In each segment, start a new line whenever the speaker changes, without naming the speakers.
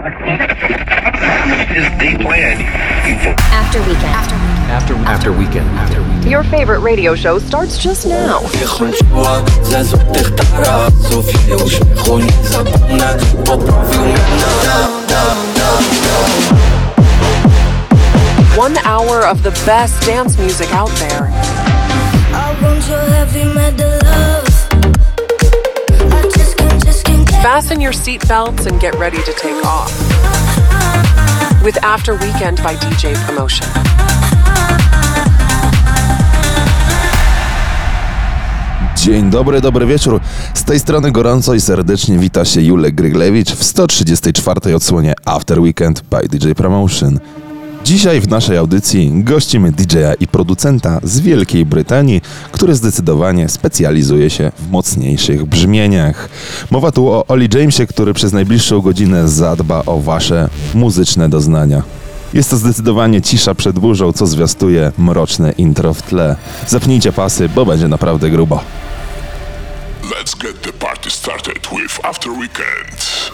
After weekend.
Your favorite radio show starts just now. 1 hour of the best dance music out there. Fasten your seatbelts and get ready to take off. With After Weekend by DJ Promotion.
Dzień dobry, dobry wieczór. Z tej strony gorąco i serdecznie wita się Julek Gryglewicz w 134. odsłonie After Weekend by DJ Promotion. Dzisiaj w naszej audycji gościmy DJ-a i producenta z Wielkiej Brytanii, który zdecydowanie specjalizuje się w mocniejszych brzmieniach. Mowa tu o Oli Jamesie, który przez najbliższą godzinę zadba o wasze muzyczne doznania. Jest to zdecydowanie cisza przed burzą, co zwiastuje mroczne intro w tle. Zapnijcie pasy, bo będzie naprawdę grubo.
Let's get the party started with After Weekend.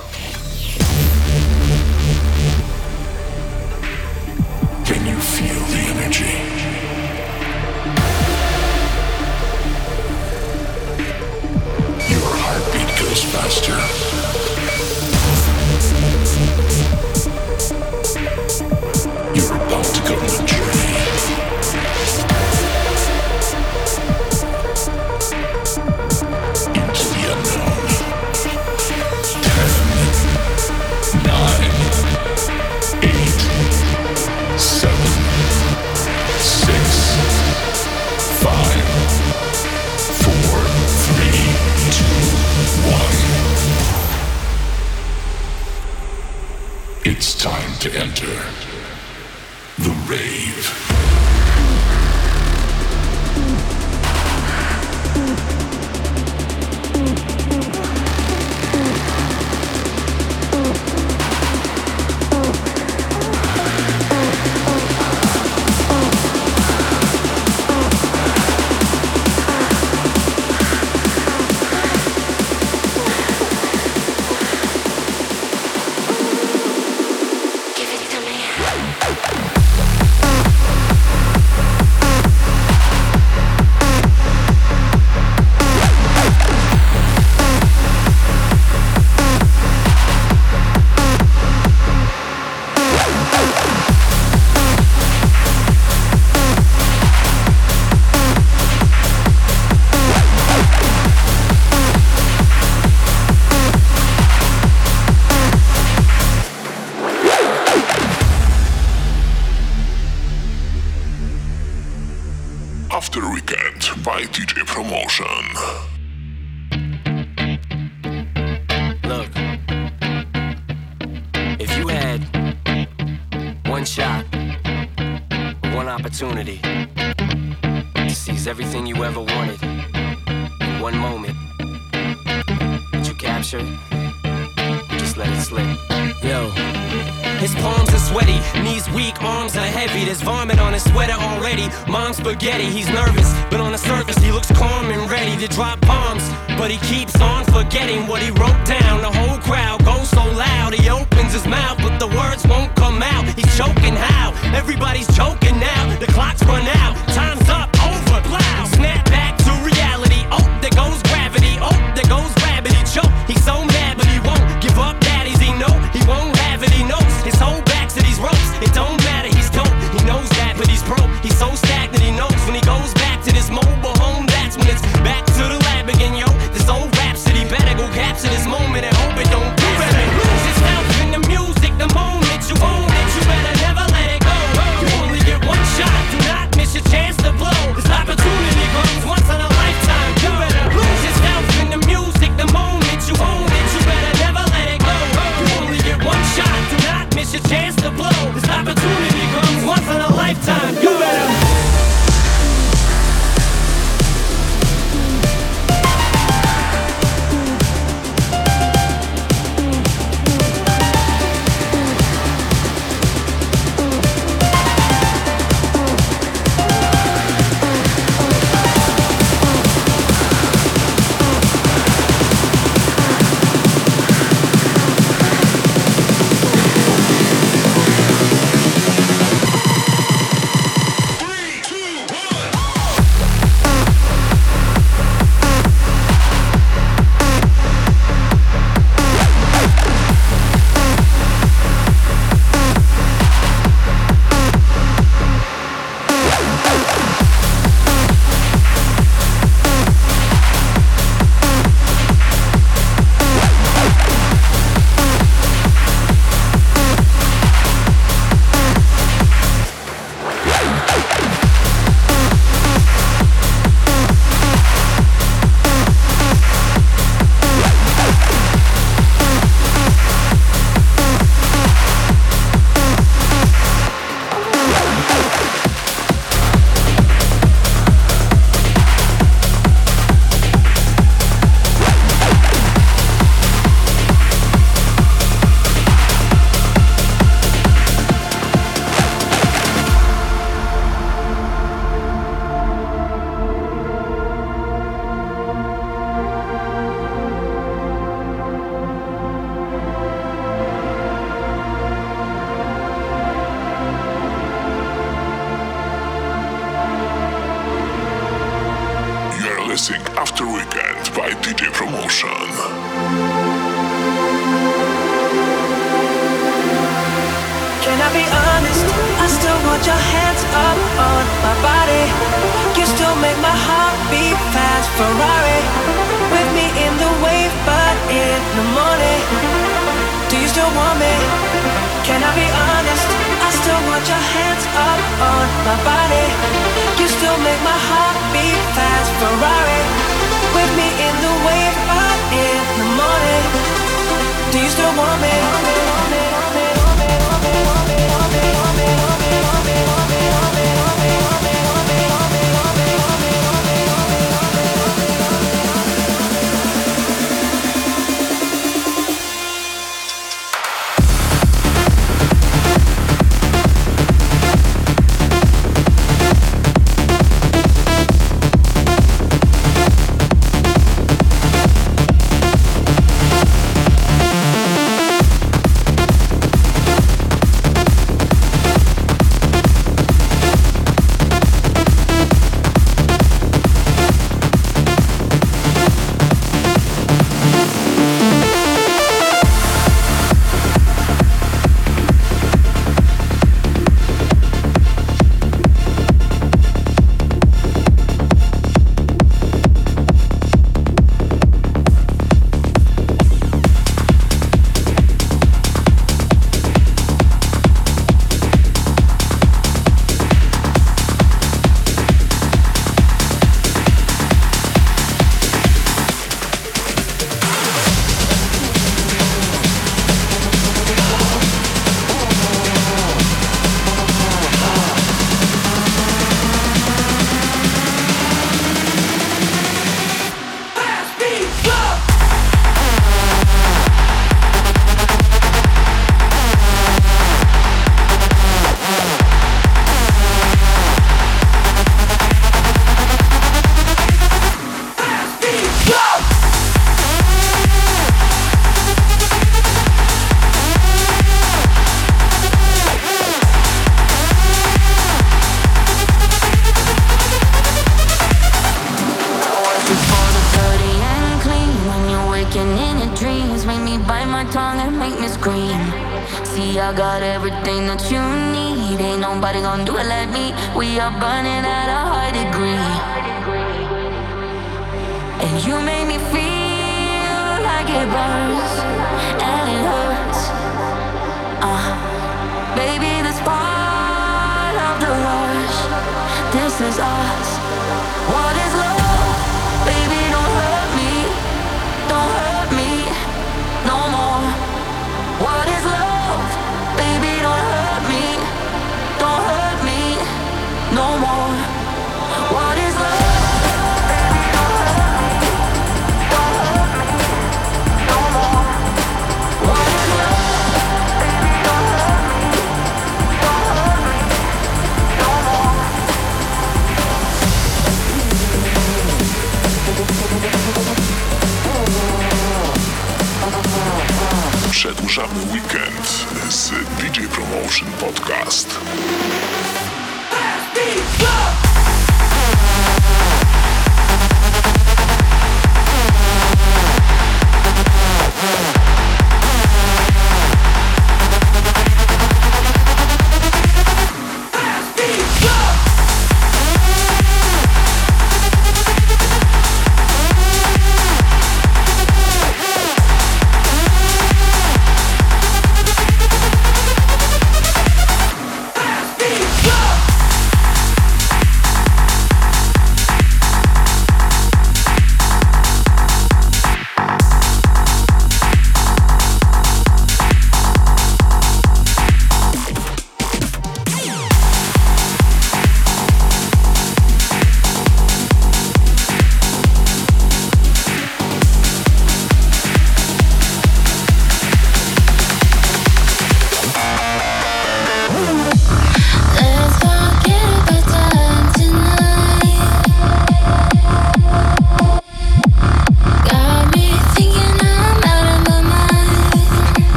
Can you feel the energy? Your heartbeat goes faster. You're about to go on a journey. Into the unknown. 10, 9, 8, 7, 6, 5, 4, 3, 2, 1. It's time to enter the rave. After Weekend by DJ Promotion.
Look, if you had one shot, one opportunity to seize everything you ever wanted in one moment, would you capture it? Or just let it slip? Yo. His palms are sweaty, knees weak, arms are heavy. There's vomit on his sweater already. Mom's spaghetti, he's nervous, but on the surface he looks calm and ready to drop bombs. But he keeps on forgetting what he wrote down. The whole crowd goes so loud, he opens his mouth, but the words won't come out. He's choking how? Everybody's choking now. The clock's run out, time's up, over, plow. Snap back to reality, oh, there goes gravity. Oh, there goes gravity, choke. He's so mad, but he won't give up, daddies, he know. He won't have it, he knows. His whole back to these ropes, it don't matter, he's dope. He knows that, but he's broke. He's so stagnant, he knows when he goes back to this mobile home, that's when it's back to the lab again, yo. This old rhapsody better go capture this moment and hope it don't pass and lose its mouth.
listening After Weekend by DJ Promotion.
Can I be honest? I still want your hands up on my body. You still make my heart beat fast. Ferrari with me in the wave, but in the morning. Do you still want me? Can I be honest? I still want your hands up on my body. You still make my heart beat fast. Ferrari with me in the wave, but in the morning. Do you still want me?
I got everything that you need. Ain't nobody gonna do it like me. We are burning at a high degree. And you make me feel like it burns and it hurts. Baby, this part of the rush. This is us. What is love? Baby, don't hurt me. Don't hurt me no more. What is love? Baby, don't hurt me. Don't hurt me no more. What is love? Baby, don't hurt me. Don't hurt me no more. What is love? Baby, don't hurt me. Don't hurt me no more.
Przedłużamy weekend z DJ Promotion Podcast.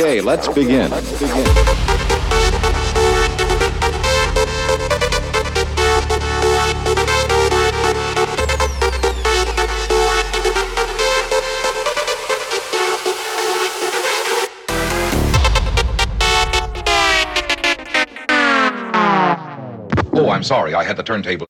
Okay, let's begin.
Oh, I'm sorry, I had the turntable.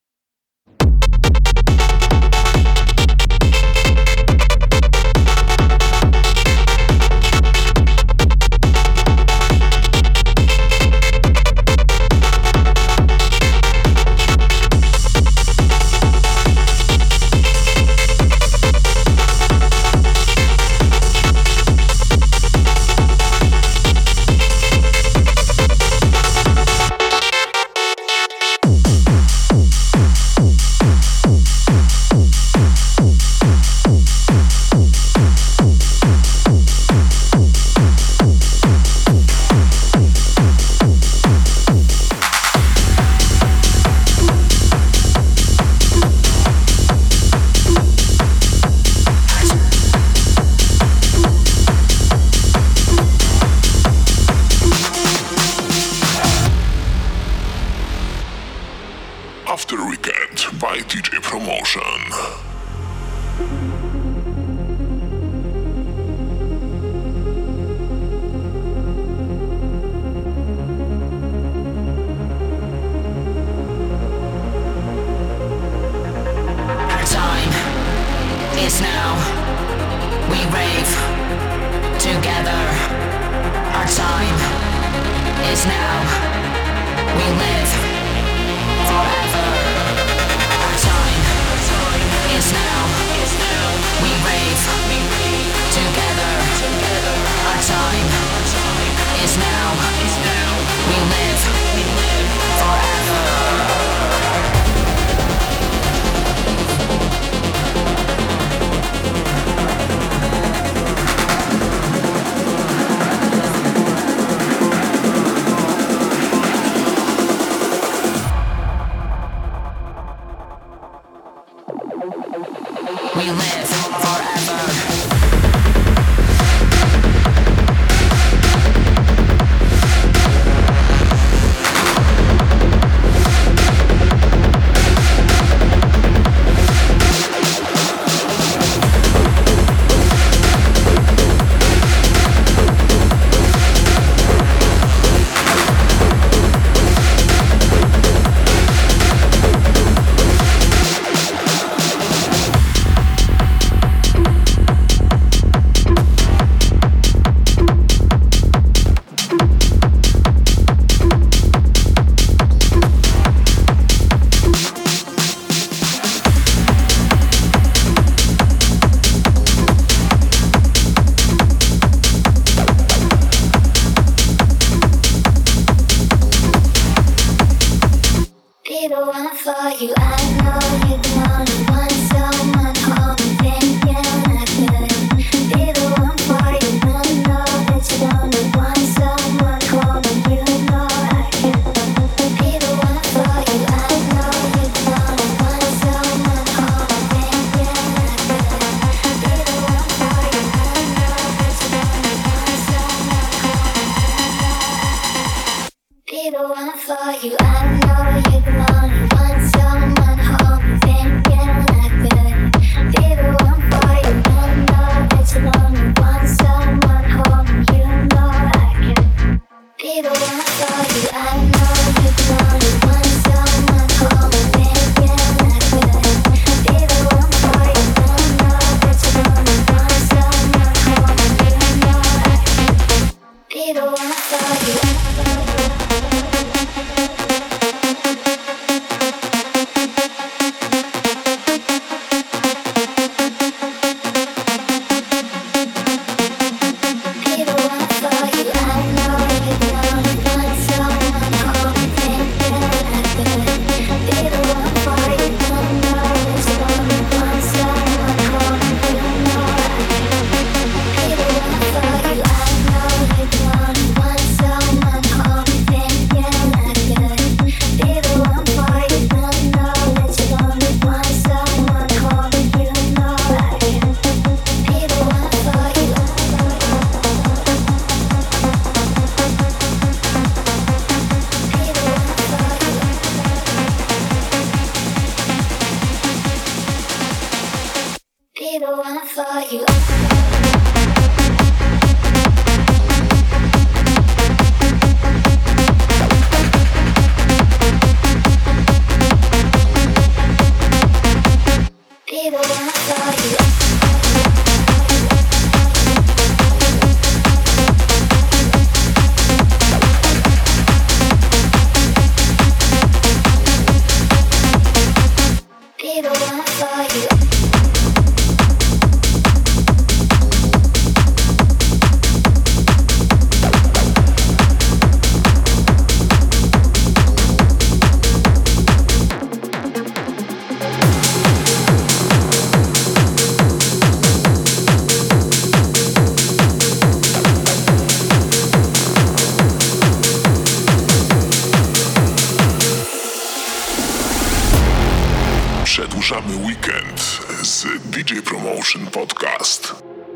After Weekend by DJ Promotion.
Our time is now. We rave together. Our time is now. We live forever. Our time is now. We rave together. Our time is now. We live forever. We live forever.
Be the one for you. I know you're the only one. Someone call me thinking I could be the one for you. I know that you're the only one. Someone call me, you know I can be the one for you. I know you're the only one. Someone call me thinking I could be the one for you. I know that you're the only one. Someone call me, be the one for you. I know you're the only one. Someone hold me thinking for you. Be the one for you. Be the one for you.
Przedłużamy weekend z DJ Promotion Podcast.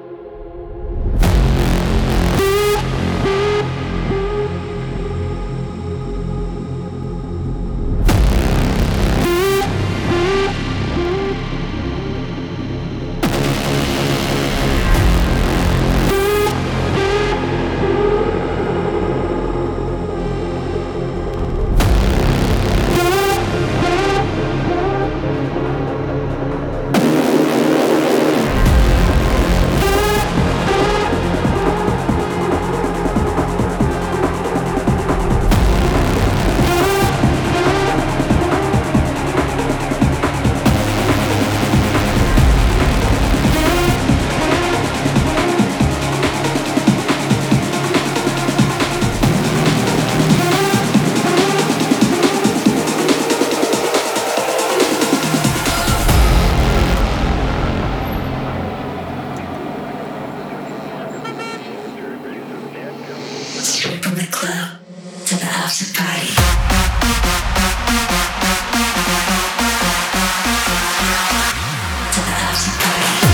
From the club to the after party. To the after party.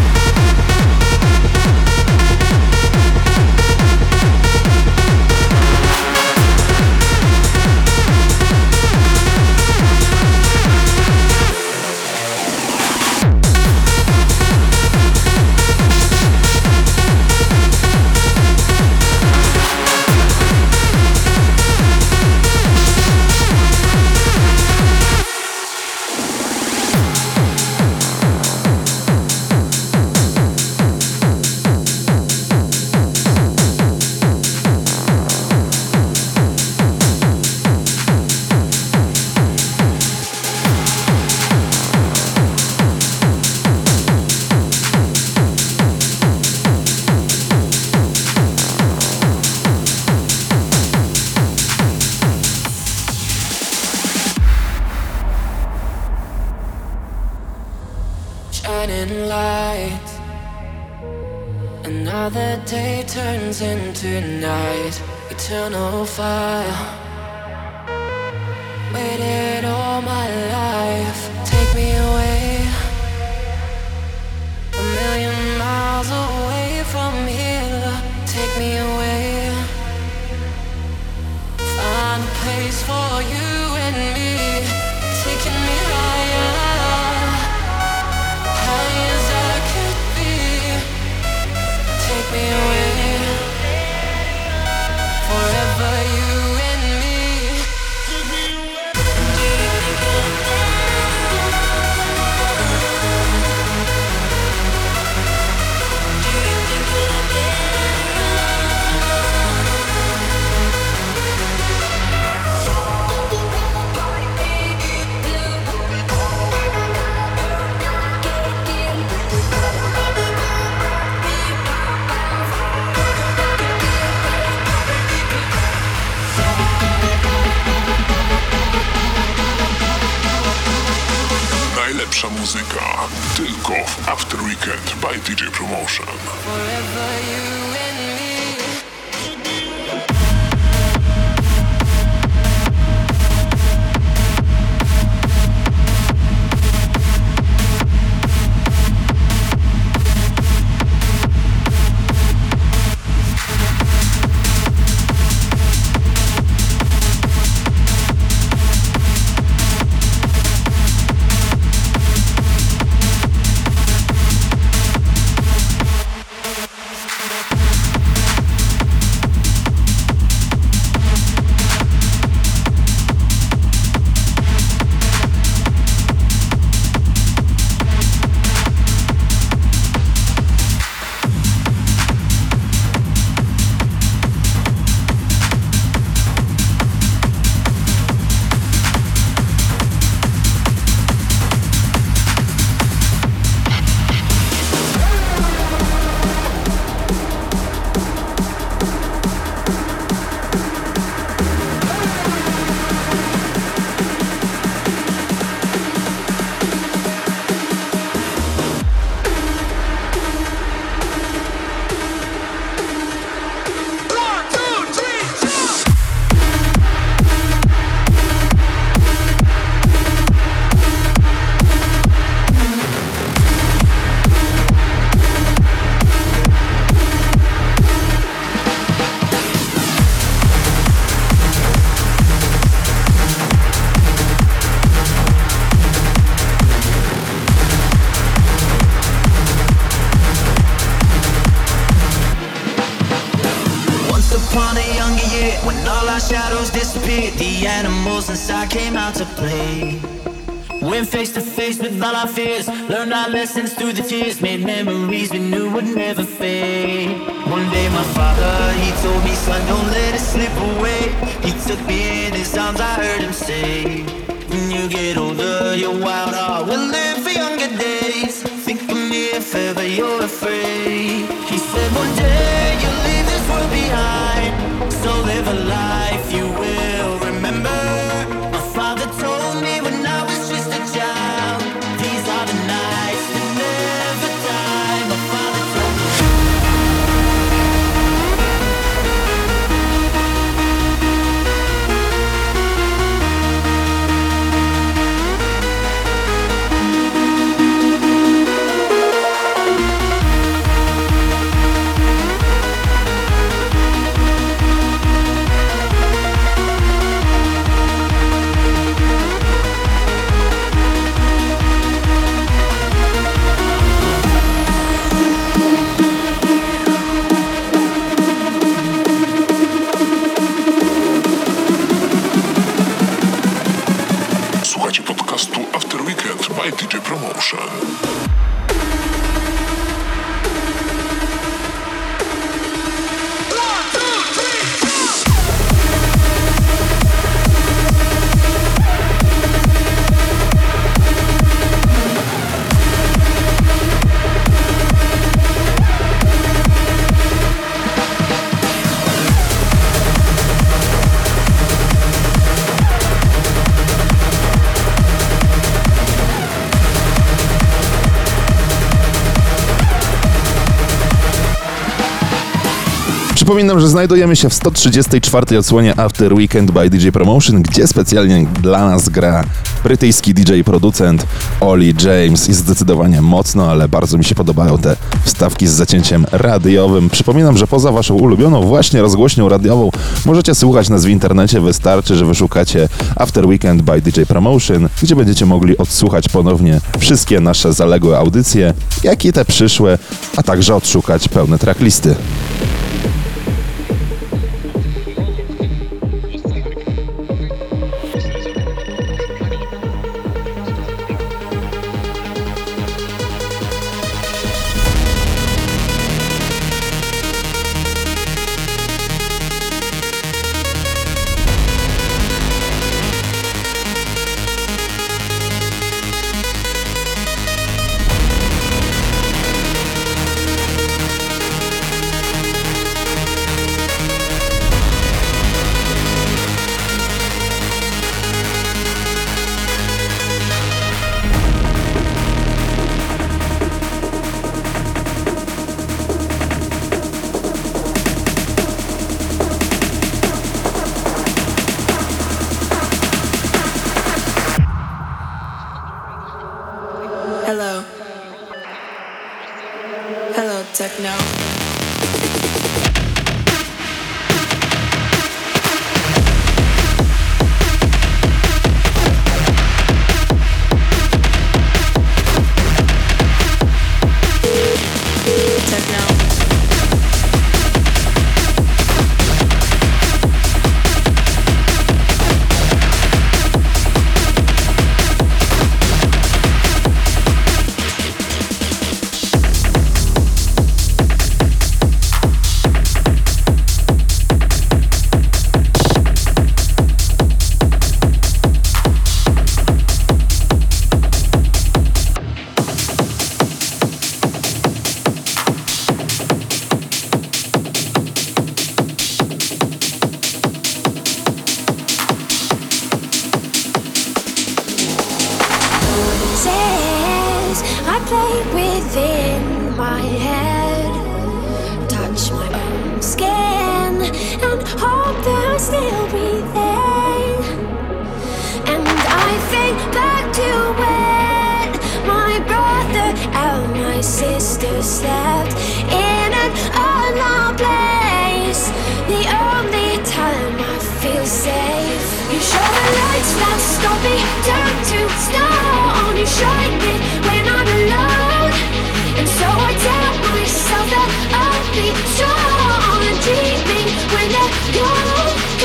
Shining light. Another day turns into night. Eternal fire. Waited all my life. Take me away. A million miles away from here. Take me away. Find a place for you and me. Taking me higher. Take me away, forever you and me.
Najlepsza muzyka tylko w After Weekend by DJ Promotion.
Forever you and me.
When all our shadows disappeared, the animals inside came out to play. Went face to face with all our fears, learned our lessons through the tears, made memories we knew would never fade. One day my father, he told me, son, don't let it slip away. He took me in his arms, I heard him say, when you get older, your wild heart will live for younger days. Think of me if ever you're afraid. He said one day you'll leave this world behind, so live a life you will remember. My father told me when I was just a child, these are the nights that never die. My father told me.
Słuchajcie podcastu After Weekend by DJ Promotion.
Przypominam, że znajdujemy się w 134. odsłonie After Weekend by DJ Promotion, gdzie specjalnie dla nas gra brytyjski DJ-producent Oli James i zdecydowanie mocno, ale bardzo mi się podobają te wstawki z zacięciem radiowym. Przypominam, że poza waszą ulubioną właśnie rozgłośnią radiową możecie słuchać nas w internecie, wystarczy, że wyszukacie After Weekend by DJ Promotion, gdzie będziecie mogli odsłuchać ponownie wszystkie nasze zaległe audycje, jak i te przyszłe, a także odszukać pełne tracklisty.
Hello. Hello, techno.
I play within my head, touch my own skin, and hope that I'll still be there. And I think back to when my brother and my sister slept in an unknown place. The only time I feel safe. You show the lights that stop me, turn to stone. You shine me when I'm alone, and so I tell myself that I'll be strong and dreaming when they're gone.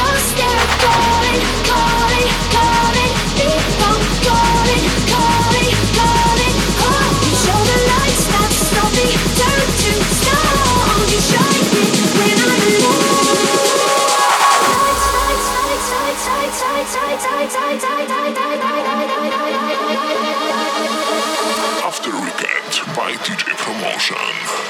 Promotion.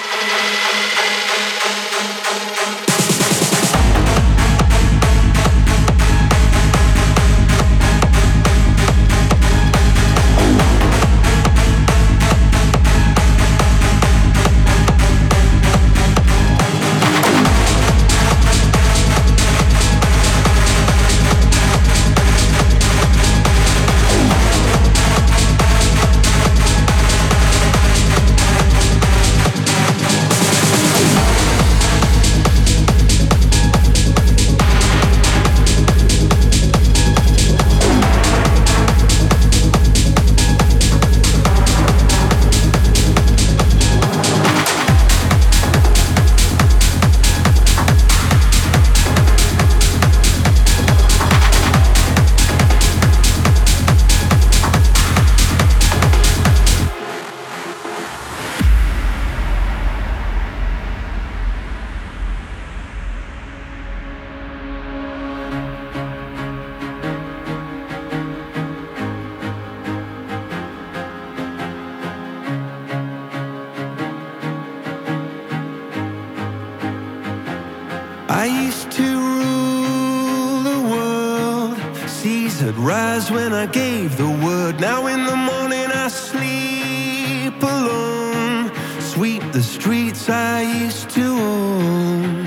I used to rule the world. Seas had rise when I gave the word. Now in the morning I sleep alone. Sweep the streets I used to own.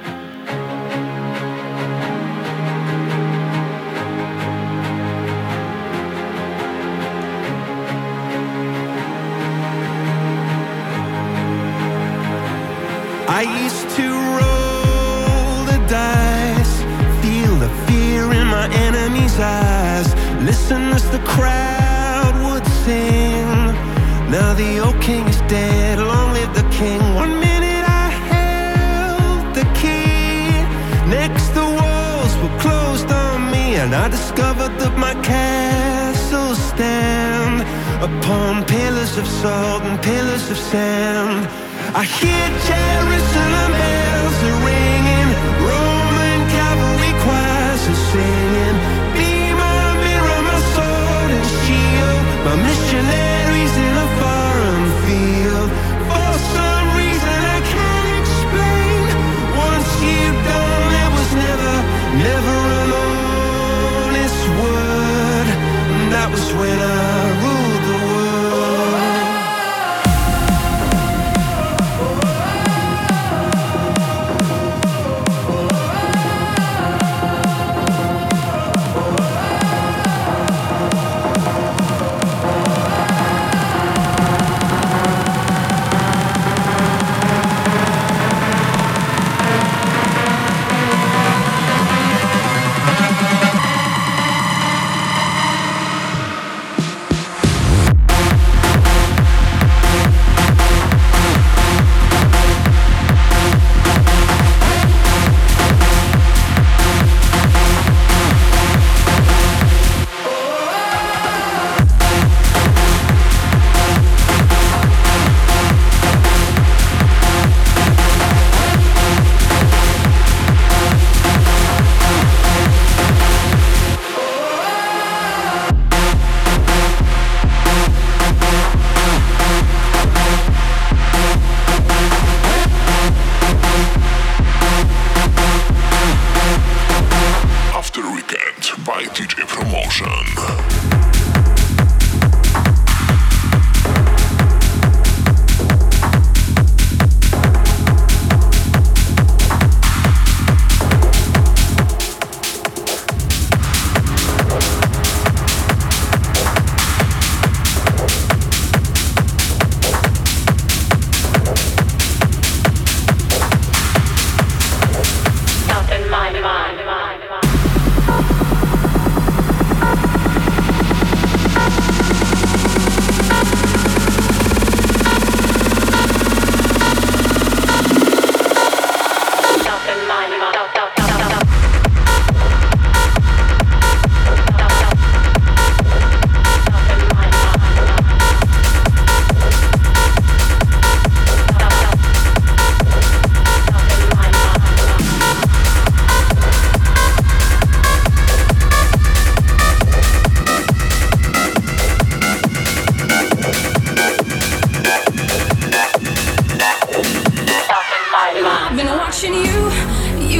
I used to roll the dice, feel the fear in my enemy's eyes, listen as the crowd would sing. Now the old king is dead, long live the king. 1 minute I held the key, next the walls were closed on me, and I discovered that my castles stand upon pillars of salt and pillars of sand. I hear Jerusalem bells are ringing, Roman cavalry choirs are singing. Be my mirror, my sword and shield, my missionaries in a foreign field. For some reason I can't explain, once you've done there was never an honest word. And that was when I ruled the world.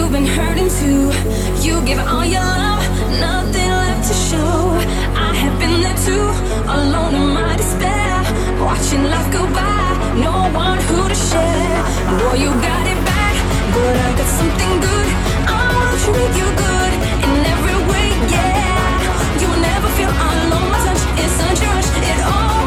you've been hurting too. You give all your love, nothing left to show. I have been there too, alone in my despair, watching life go by, no one who to share. Boy, you got it bad, but I got something good. I wanna treat you good in every way, yeah. You will never feel alone. My touch is such a rush, it all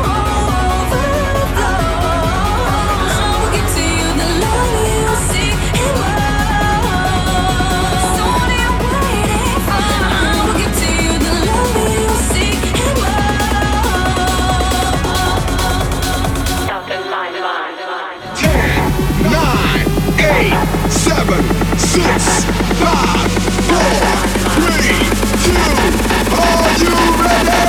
overflows. I will give to you the love you seek and love. So what are you waiting for? I will give to you the love you seek and love.
10, 9, 8, 7, 6, 5, 4, 3, 2, are you ready?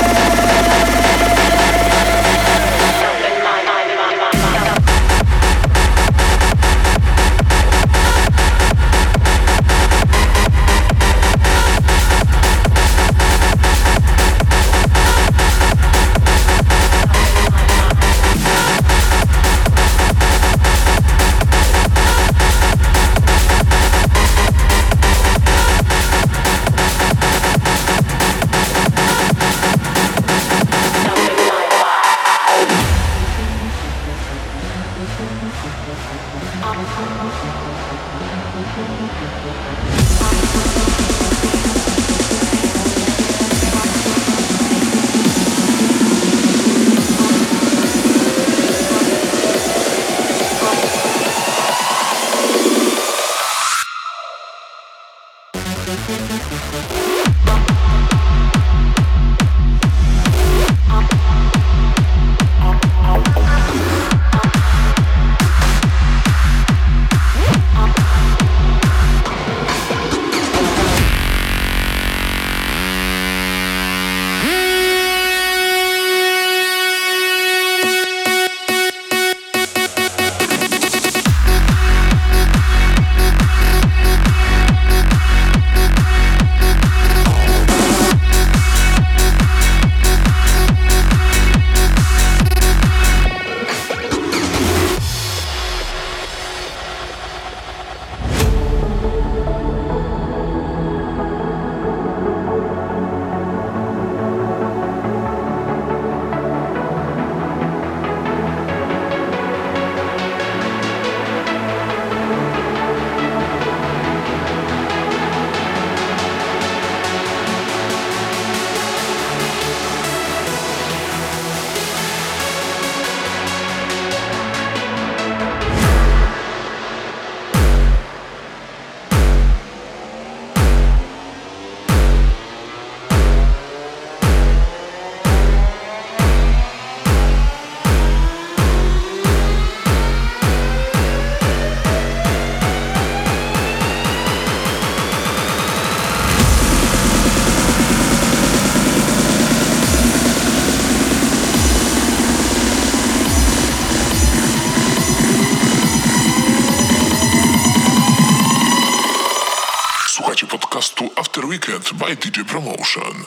podcastu After Weekend by DJ Promotion.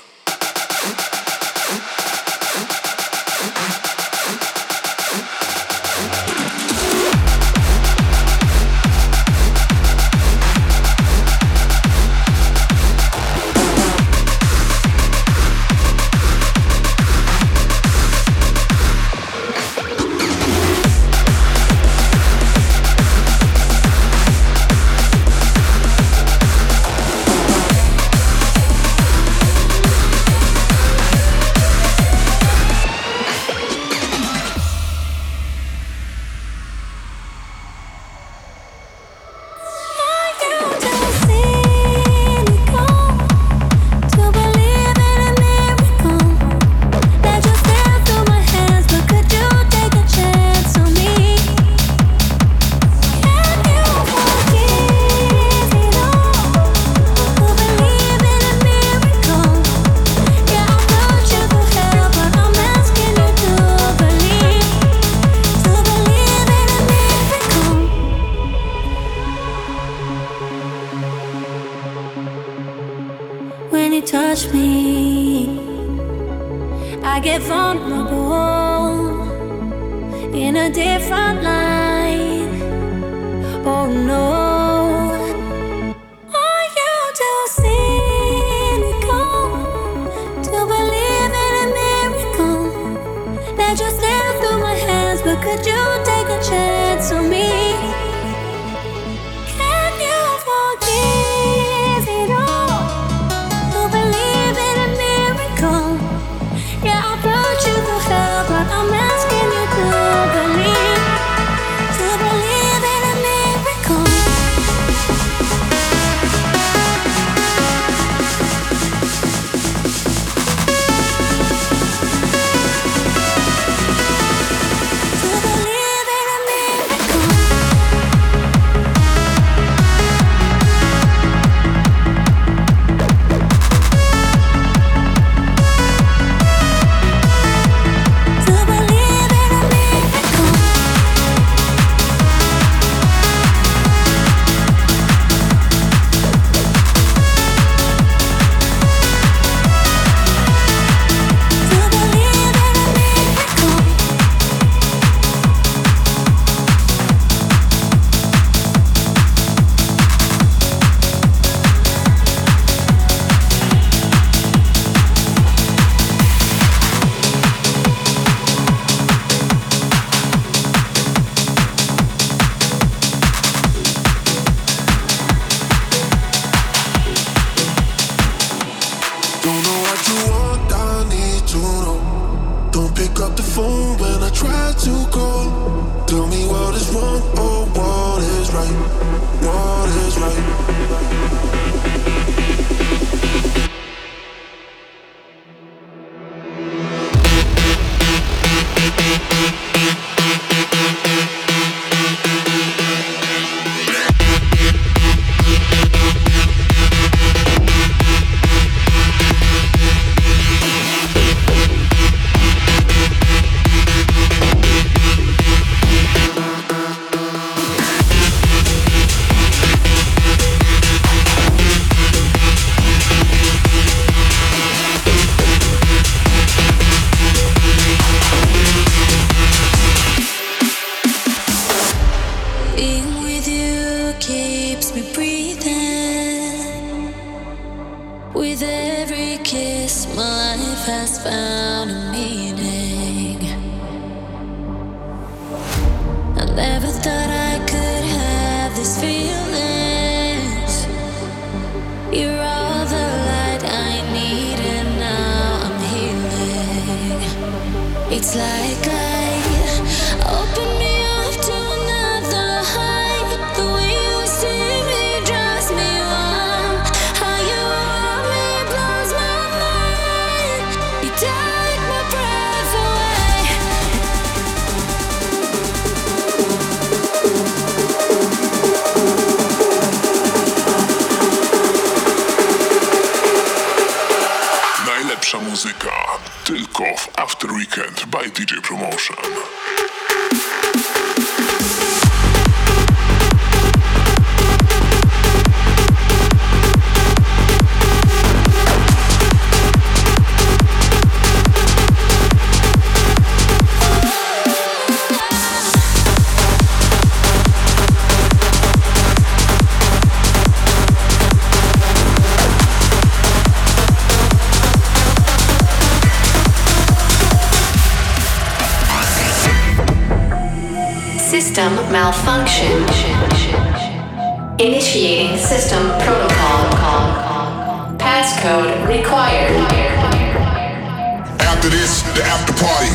Touch me, I get vulnerable in a different light. Oh no, let you slip through my hands, but could you take a chance on me? Can you forgive it all? To believe in a miracle. Yeah, I brought you to hell, but I'm asking you to believe in a miracle.
Muzyka tylko w After Weekend by DJ Promotion.
System malfunction. Initiating system protocol. Passcode required.
After this, the after party.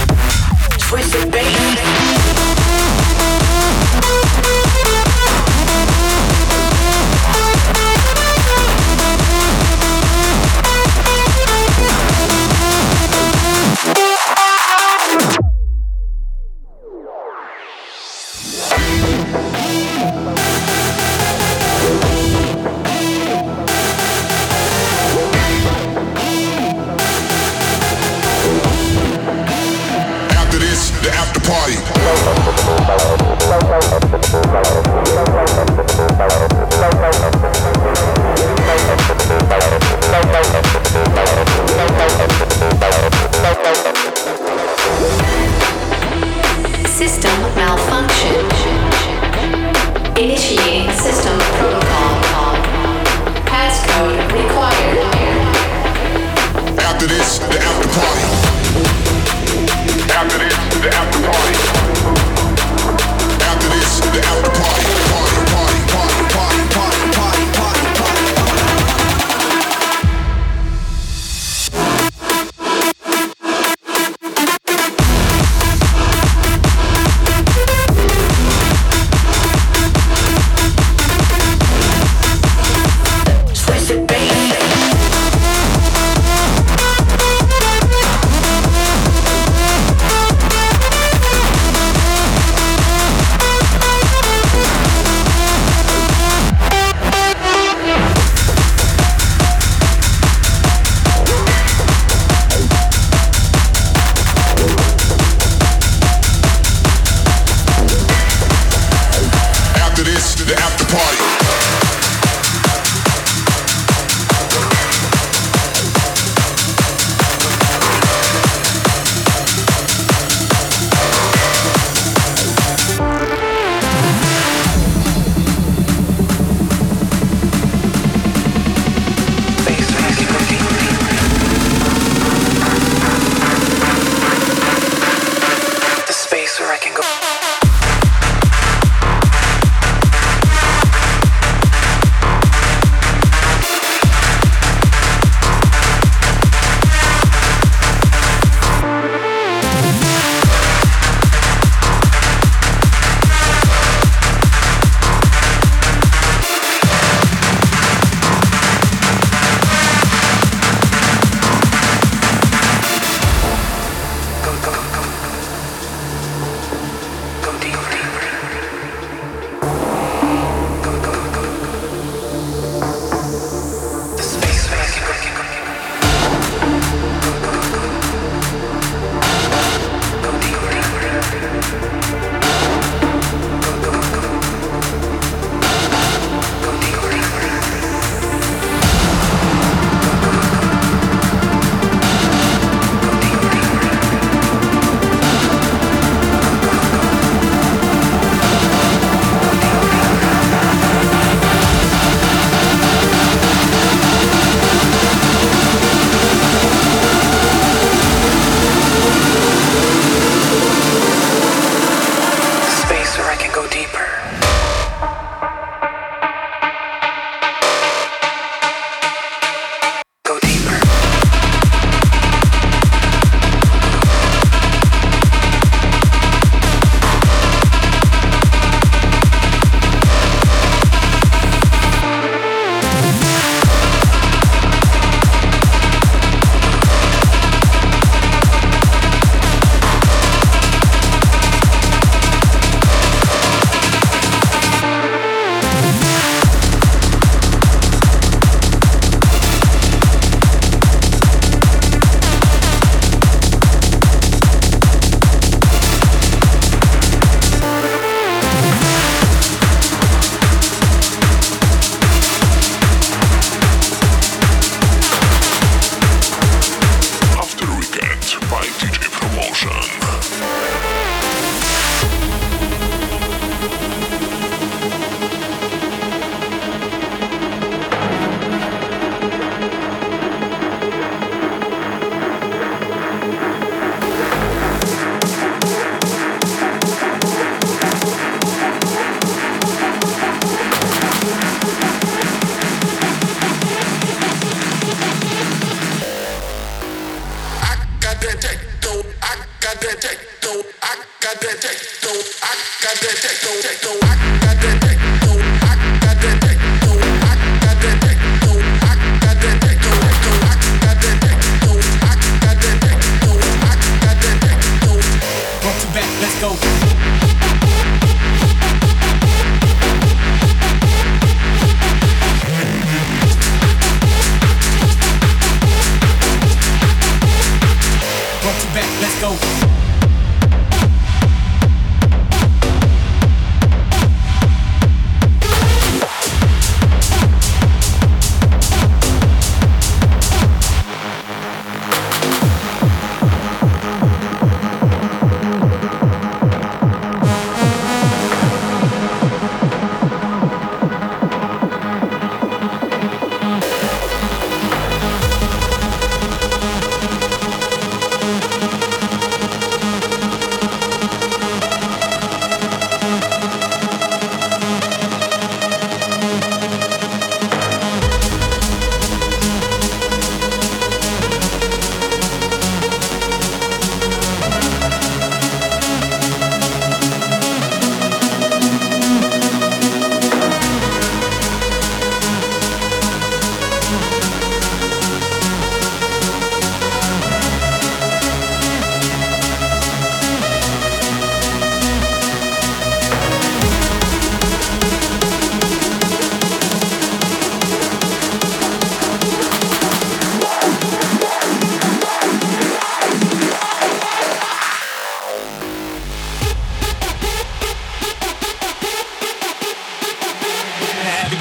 Twisted bass.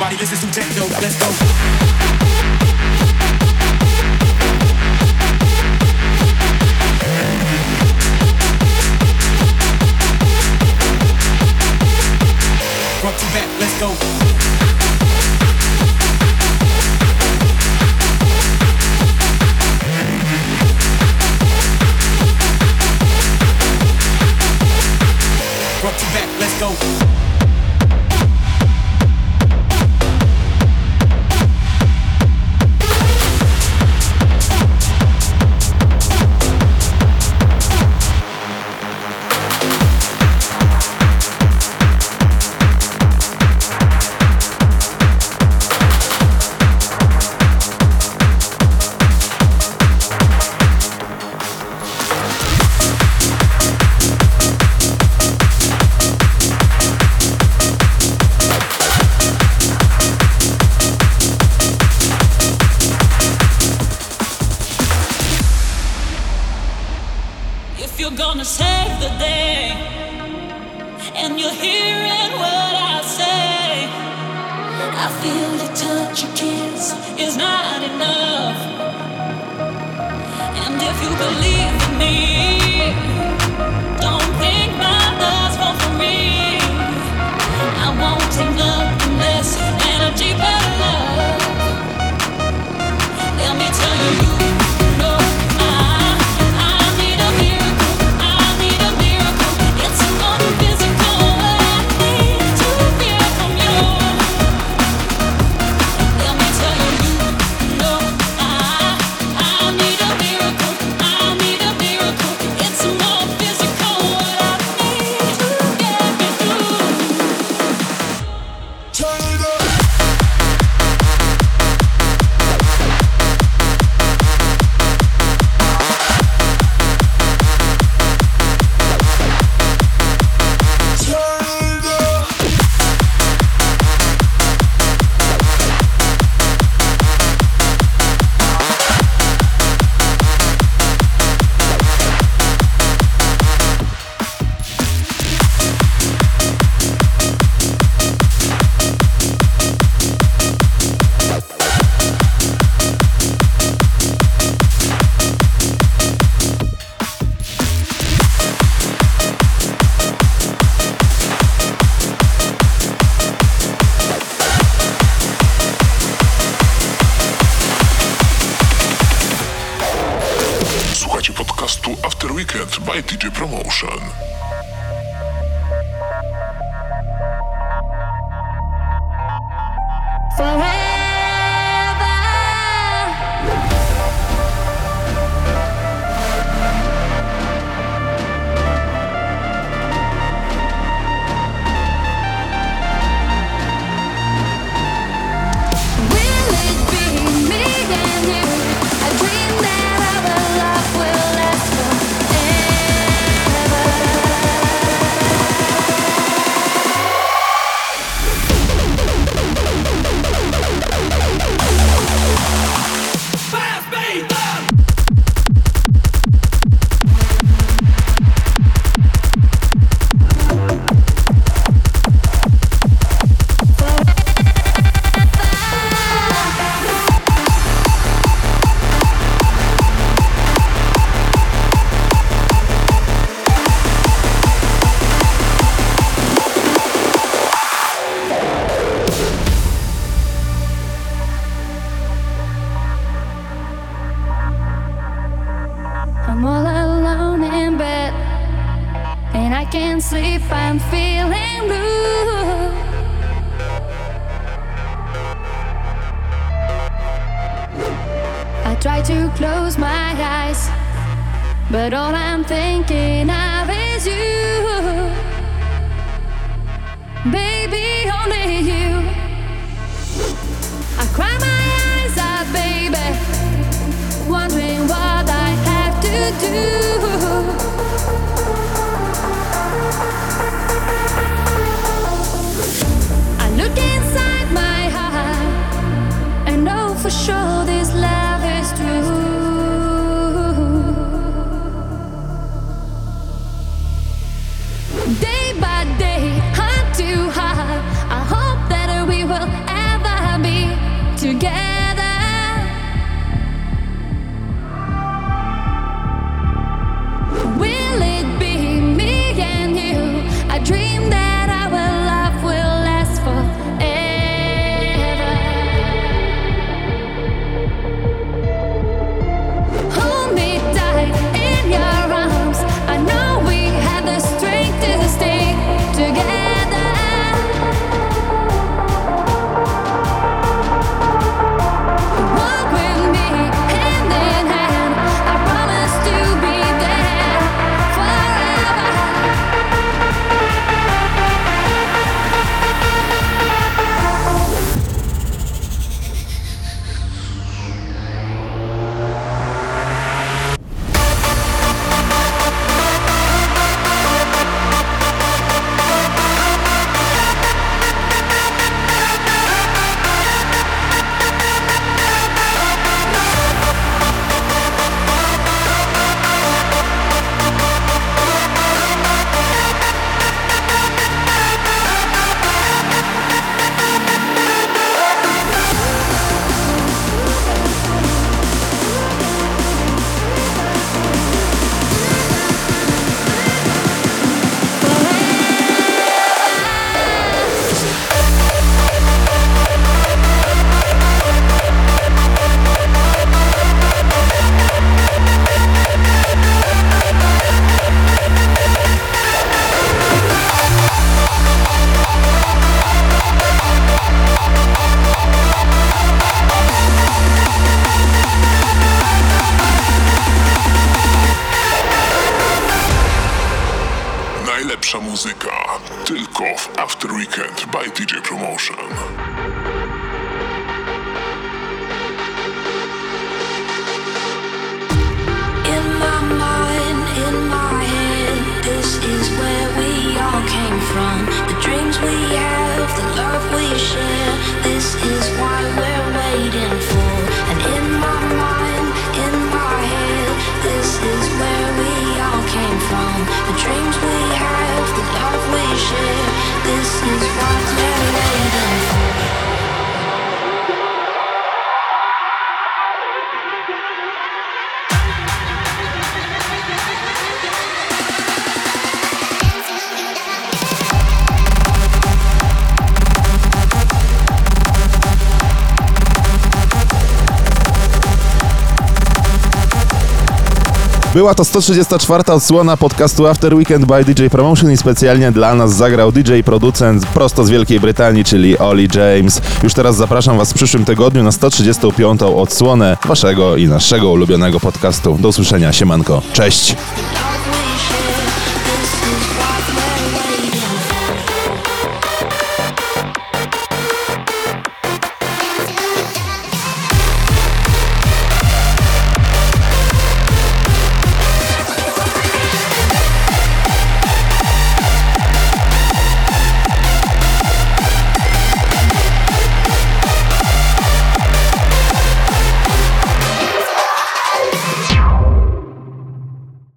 Everybody listen to techno. Let's go. Front to back, let's go. Front to back, let's go.
If you're gonna save the day and you're hearing what I say, I feel your touch, your kiss is not enough. And if you believe in me, don't think my love's for free. I won't take nothing less than a deeper love. Let me tell you.
podcastu After Weekend by DJ Promotion.
I'm all alone in bed, and I can't sleep, I'm feeling blue. I try to close my eyes, but all I'm thinking of is you. Baby, only you. I cry my eyes out, baby, wondering what I have to do. I look inside my heart and know for sure this love is true. Day by day, heart to heart, I hope that we
muzyka tylko w After Weekend by DJ Promotion.
In my mind, in my head, this is where we all came from. The dreams we have, the love we share, this is why we're waiting for. And in my mind, in my head, this is where we all came from. The dreams we have, the love we share, this is what we're waiting for.
Była to 134. odsłona podcastu After Weekend by DJ Promotion i specjalnie dla nas zagrał DJ-producent prosto z Wielkiej Brytanii, czyli Oli James. Już teraz zapraszam Was w przyszłym tygodniu na 135. odsłonę Waszego i naszego ulubionego podcastu. Do usłyszenia, siemanko, cześć!